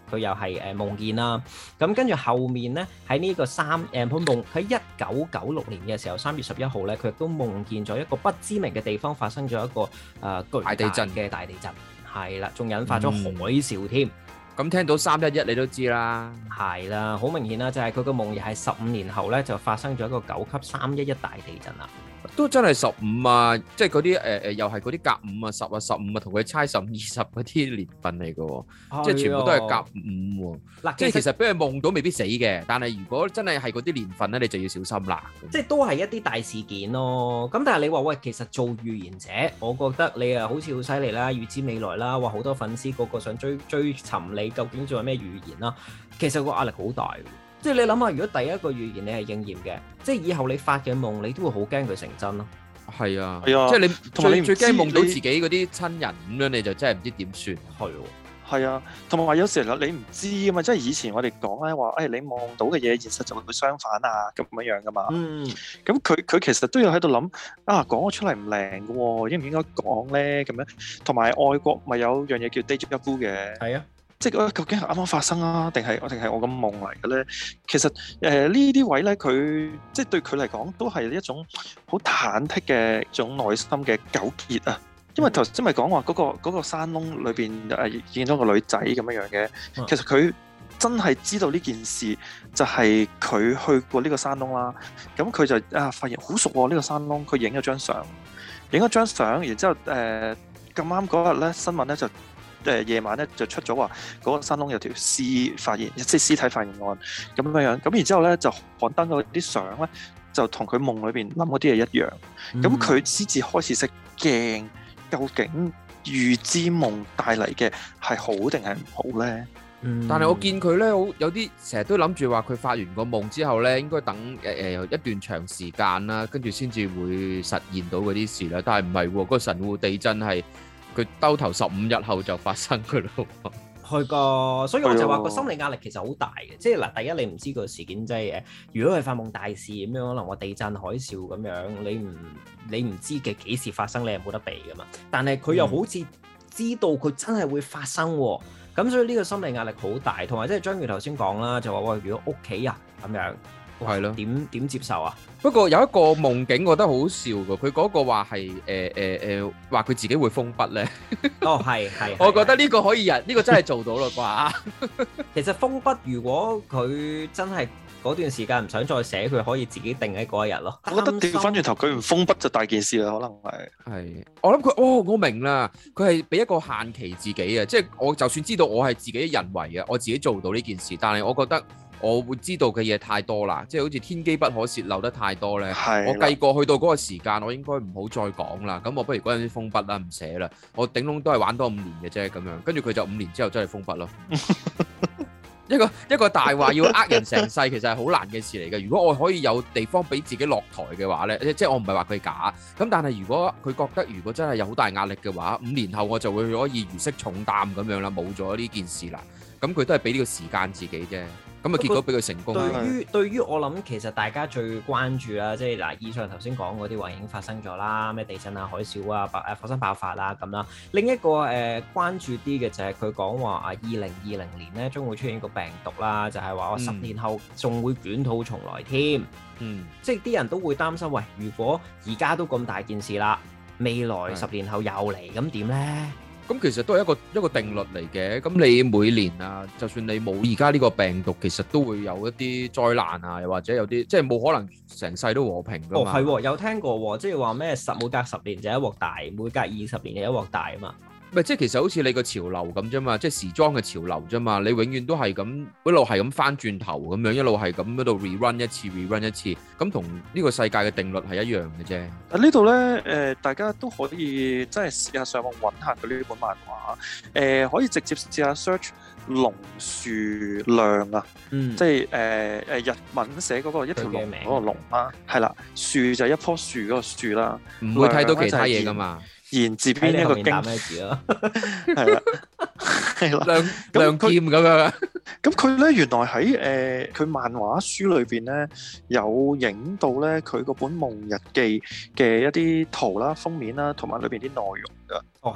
佢又係誒夢見啦。咁跟住後面咧喺呢個三誒佢夢喺一九九六年嘅時候三月十一號咧，佢亦都夢見咗一個不知名嘅地方發生咗一個誒、呃、巨大地震嘅大地震，係啦，仲引發咗海嘯添。 咁、嗯、聽到三一一你都知啦， 係啦，好明顯啦，就係佢個夢又係十五年後咧就發生咗一個九級三一一大地震啦。 都真係十五啊，即係嗰啲誒誒，又係嗰啲甲五啊、十啊、十五啊，同佢猜十五、二十嗰啲年份嚟嘅喎，即係全部都係甲五喎。嗱，即係其實俾佢夢到未必死嘅，但係如果真係係嗰啲年份咧，你就要小心啦。 即係都係一啲大事件咯。咁但係你話喂，其實做預言者，我覺得你啊好似好犀利啦，預知未來啦，話好多粉絲個個想追追尋你究竟做咩預言啦。其實個壓力好大。即係你諗下，如果第一個預言你係應驗嘅，即係以後你發嘅夢，你都會好驚佢成真咯。 係啊， 係啊， 即係你同埋你最最驚夢到自己嗰啲親人咁樣，你就真係唔知點算。 係喎， 係啊，同埋話有時啦，你唔知啊嘛，即係以前我哋講咧話，誒、哎、你望到嘅嘢，現實就會相反啊咁樣樣噶嘛。嗯。咁佢佢其實都要喺度諗啊，講咗出嚟唔靈嘅喎，應唔應該講咧咁樣？同埋外國咪有樣嘢叫 déjà vu 嘅。係啊。即係究竟係啱啱發生啊，定係定係我個夢嚟嘅咧？其實誒、呃、呢啲位咧，佢即係對佢嚟講都係一種好忐忑嘅一種內心嘅糾結啊。因為頭先咪講話嗰個嗰個山窿裏邊誒見到個女仔咁樣樣嘅，其實佢真係知道呢件事就係佢去過呢個山窿啦。咁佢就啊發現好熟喎呢個山窿，佢影咗張相，影咗張相，然之後誒咁啱嗰日咧新聞咧就。誒夜晚咧就出咗話嗰個山窿有條屍發現，即係屍體發現案咁樣樣。咁然之後咧就刊登嗰啲相咧，就同佢夢裏邊諗嗰啲嘢一樣。咁佢先至開始識驚，究竟預知夢帶嚟嘅係好定係唔好咧？ 嗯、但係我見佢咧，好有啲成日都諗住話佢發完個夢之後咧，應該等誒誒、呃、一段長時間啦，跟住先至會實現到嗰啲事啦。但係唔係喎，個神戶地震係。佢兜頭十五日後就發生㗎咯， 係噶，所以我就話個心理壓力其實好大嘅。即係嗱，第一你唔知個事件即係誒，如果係發夢大事咁樣，可能話地震、海嘯咁樣，你唔你唔知嘅幾時發生，你係冇得避噶嘛。但係佢又好似知道佢真係會發生喎，咁、嗯、所以呢個心理壓力好大。同埋即係章魚頭先講啦，就話喂，如果屋企人咁樣，係咯，點點接受啊？ 不過有一個夢境，我覺得好笑㗎。佢嗰個話係誒誒誒，話佢自己會封筆咧。 哦，係係。 我覺得呢個可以人，呢個真係做到啦啩。 其實封筆，如果佢真係嗰段時間唔想再寫，佢可以自己定喺嗰一日咯。 我覺得調翻轉頭，佢唔封筆就大件事啦，可能係。 係。我諗佢，哦，我明啦，佢係俾一個限期自己啊，即係我就算知道我係自己人為嘅，我自己做到呢件事，但係我覺得。我會知道嘅嘢太多啦，即係好似天機不可泄漏得太多咧。我計過去到嗰個時間，我應該唔好再講啦。咁我不如嗰陣時封筆啦，唔寫啦。我頂籠都係玩多五年嘅啫，咁樣。跟住佢就五年之後真係封筆咯。一個一個大話要呃人成世，其實係好難嘅事嚟嘅。如果我可以有地方俾自己落台嘅話咧，即係我唔係話佢假。咁但係如果佢覺得如果真係有好大壓力嘅話，五年後我就會可以如釋重擔咁樣啦，冇咗呢件事啦。咁佢都係俾呢個時間自己啫。咁啊，結果俾佢成功。 對於對於我諗，其實大家最關注啦，即係嗱，以上頭先講嗰啲話已經發生咗啦，咩地震啊、海嘯啊、爆誒火山爆發啦咁啦。另一個誒、呃、關注啲嘅就係佢講話啊，二零二零年咧將會出現個病毒啦，就係話我十年後仲會捲土重來添。嗯，即係啲人都會擔心，喂，如果而家都咁大件事啦，未來十年後又嚟，咁點咧？ 咁其實都係一個一個定律嚟嘅。咁你每年啊，就算你冇而家呢個病毒，其實都會有一啲災難啊，又或者有啲即係冇可能成世都和平㗎嘛。 哦，係喎，有聽過喎，即係話咩十每隔十年就一鑊大，每隔二十年就一鑊大啊嘛。 唔係，即係其實好似你個潮流咁啫嘛，即係時裝嘅潮流啫嘛。你永遠都係咁一路係咁翻轉頭咁樣，一路係咁喺度 rerun 一次 rerun 一次，咁同呢個世界嘅定律係一樣嘅啫。 啊呢度咧誒，大家都可以真係試下上網揾下佢呢本漫畫，誒、呃、可以直接試下 search 龍樹亮啊，嗯、即係誒誒日文寫嗰個一條龍嗰個龍啦，係啦，樹就係一棵樹嗰個樹啦， 唔會睇到其他嘢噶嘛。 言字邊一個經咩字咯？ 係啦，係啦， 亮亮劍咁樣。 咁佢咧原來喺誒佢漫畫書裏邊咧有影到咧佢嗰本夢日記嘅一啲圖啦、封面啦，同埋裏邊啲內容噶。 哦，係。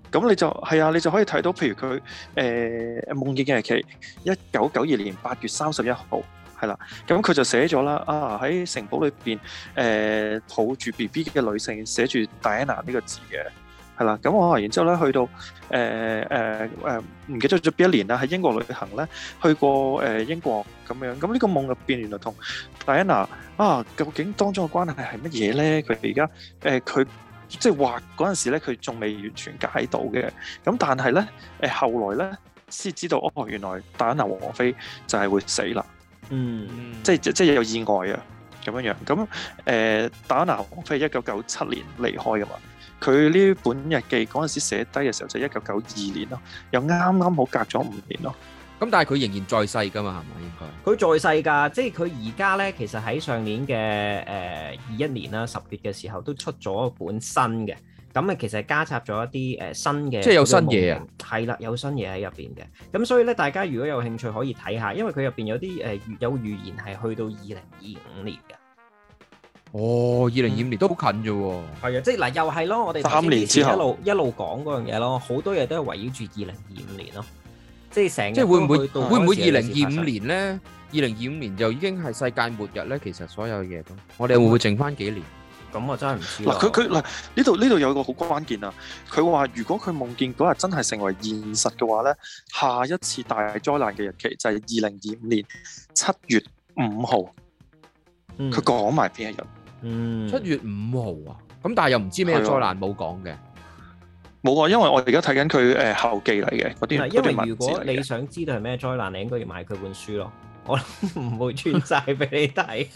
咁你就係啊，你就可以睇到，譬如佢誒、呃、夢見嘅日期，一九九二年八月三十一號，係啦。咁佢就寫咗啦，啊喺城堡裏邊誒抱住 B B 嘅女性，寫住 Diana 呢個字嘅，係啦。咁我然之後咧去到誒誒誒唔記得咗邊一年啦，喺英國旅行咧，去過誒、呃、英國咁樣。咁呢個夢入邊原來同 Diana 啊，究竟當中嘅關係係乜嘢咧？佢而家誒佢。呃即係畫嗰陣時咧，佢仲未完全解到嘅。咁但係咧，誒後來咧先知道，哦原來戴安娜王妃就係會死啦。 嗯， 即係即係有意外啊，咁樣樣。咁誒戴安娜王妃一九九七年離開噶嘛。佢呢本日記嗰陣時寫低嘅時候就一九九二年咯，又啱啱好隔咗五年咯。 咁但係佢仍然在世㗎嘛，係咪應該？ 佢在世㗎，即係佢而家咧，其實喺上年嘅誒二一年啦，十月嘅時候都出咗一本新嘅，咁啊其實加插咗一啲誒新嘅， 即係有新嘢啊， 係啦，有新嘢喺入邊嘅，咁所以咧大家如果有興趣可以睇下，因為佢入邊有啲誒有預言係去到二零二五年嘅。 哦，二零二五年都好近啫喎。 係啊，即係嗱，又係咯，我哋三年之後一路一路講嗰樣嘢咯，好多嘢都係圍繞住二零二五年咯。即係成， 即係會唔會會唔會二零二五年咧？二零二五年就已經係世界末日咧。其實所有嘢都，我哋會唔會剩翻幾年？ 咁我真係唔知。 嗱，佢佢嗱呢度呢度有個好關鍵啊！佢話如果佢夢見嗰日真係成為現實嘅話咧，下一次大災難嘅日期就係二零二五年七月五號。佢講埋邊一日？ 嗯， 七月五號啊！咁但係又唔知咩災難冇講嘅。 冇啊，因為我而家睇緊佢誒後記嚟嘅嗰啲。 因為如果你想知道係咩災難，你應該要買佢本書咯。我唔會穿晒俾你睇。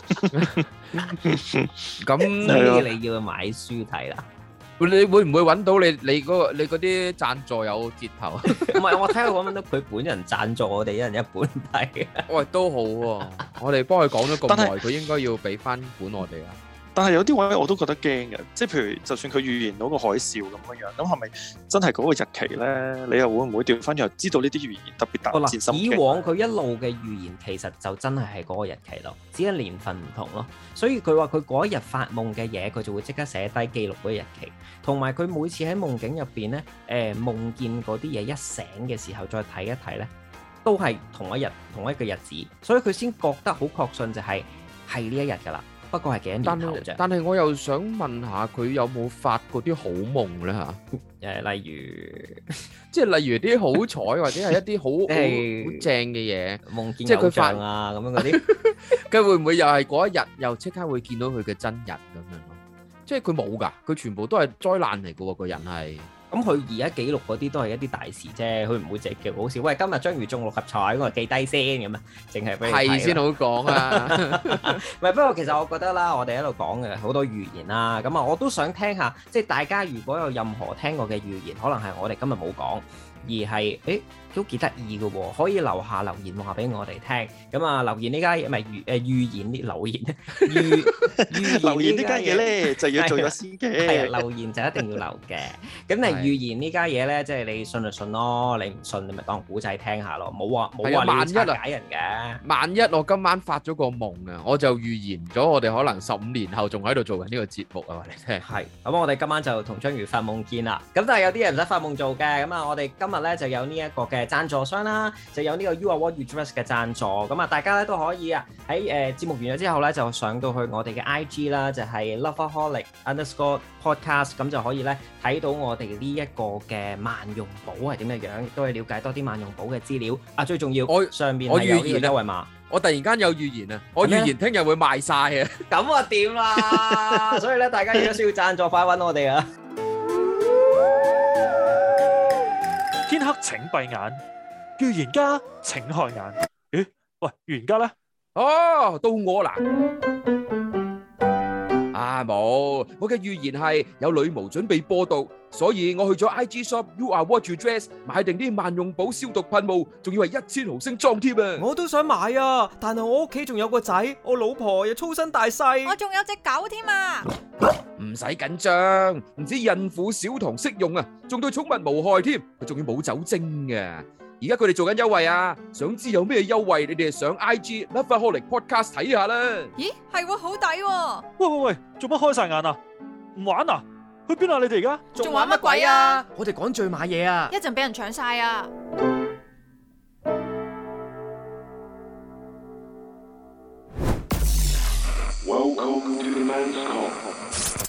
咁所以你要買書睇啦。 你會唔會揾到你你嗰個你嗰啲贊助有折頭？ 唔係，我睇下揾唔到佢本人贊助我哋一人一本睇。 喂，都好喎，我哋幫佢講咗咁耐，佢應該要俾翻本我哋啊。 但係有啲位我都覺得驚嘅，即係譬如就算佢預言到個海嘯咁樣樣，咁係咪真係嗰個日期咧？你又會唔會調翻轉知道呢啲預言特別大戰心驚？ 以往佢一路嘅預言其實就真係係嗰個日期咯，只係年份唔同咯。所以佢話佢嗰一日發夢嘅嘢，佢就會即刻寫低記錄嗰個日期，同埋佢每次喺夢境入邊咧，誒、呃、夢見嗰啲嘢一醒嘅時候再睇一睇咧，都係同一日同一個日子，所以佢先覺得好確信就係係呢一日㗎啦。不過係幾多年後啫。 但係我又想問下佢有冇發過啲好夢咧嚇？ 誒，例如即係例如啲好彩或者係一啲好好正嘅嘢， 夢見偶像啊咁樣嗰啲， 佢會唔會又係嗰一日又即刻會見到佢嘅真人咁樣咯？即係佢冇㗎，佢全部都係災難嚟㗎喎，個人係。 咁佢而家記錄嗰啲都係一啲大事啫，佢唔會直叫好笑。喂，今日章魚中六合彩，我記低先咁啊，淨係俾你睇。 係先好講啊！ 唔係，不過其實我覺得啦，我哋喺度講嘅好多預言啦，咁啊，我都想聽下，即係大家如果有任何聽過嘅預言，可能係我哋今日冇講，而係誒都幾得意嘅喎，可以留下留言話俾我哋聽。咁啊，留言呢家嘢咪預誒預言啲留言預預留言呢家嘢咧就要做咗先嘅。 係啊，留言就一定要留嘅。咁你預言呢家嘢咧，即係你信就信咯，你唔信你咪當古仔聽下咯。冇話冇話你要拆解人嘅。 萬一我今晚發咗個夢啊，我就預言咗我哋可能十五年後仲喺度做緊呢個節目啊，話你聽。 係。咁我哋今晚就同章魚發夢見啦。咁但係有啲人唔使發夢做嘅。咁啊，我哋今日咧就有呢一個嘅贊助商啦，就有呢個 You Are What You Dress 嘅贊助。咁啊，大家咧都可以啊喺誒節目完咗之後咧，就上到去我哋嘅 I G 啦，就係 Loveaholic Underscore Podcast，咁就可以咧睇到我哋呢一個嘅萬用寶係點嘅樣，亦都係了解多啲萬用寶嘅資料。啊，最重要，我上面係有呢個優惠碼。 我突然間有預言啊！我預言聽日會賣晒啊！ 咁啊掂啦！所以咧，大家如果需要贊助，快揾我哋啊！ 天黑請閉眼，預言家請開眼。咦？喂，預言家咧？ 哦，到我啦！啊冇，我嘅預言係有女巫準備播毒，所以我去咗 I G shop You Are What You Dress 買定啲萬用寶消毒噴霧，仲要係一千毫升裝添啊！ 我都想買啊，但係我屋企仲有個仔，我老婆又粗身大細， 我仲有隻狗添啊！ 唔使緊張，唔止孕婦小童適用啊，仲對寵物無害添，佢仲要冇酒精嘅。而家佢哋做緊優惠啊！想知有咩優惠？你哋上 I G Loveaholic Podcast 睇下啦。 咦，係喎，好抵喎！ 喂喂喂，做乜開晒眼啊？唔玩啊？ 去邊啊？你哋而家仲玩乜鬼啊？我哋趕住去買嘢啊！ 一陣俾人搶晒啊 ！Welcome to the Men's Come。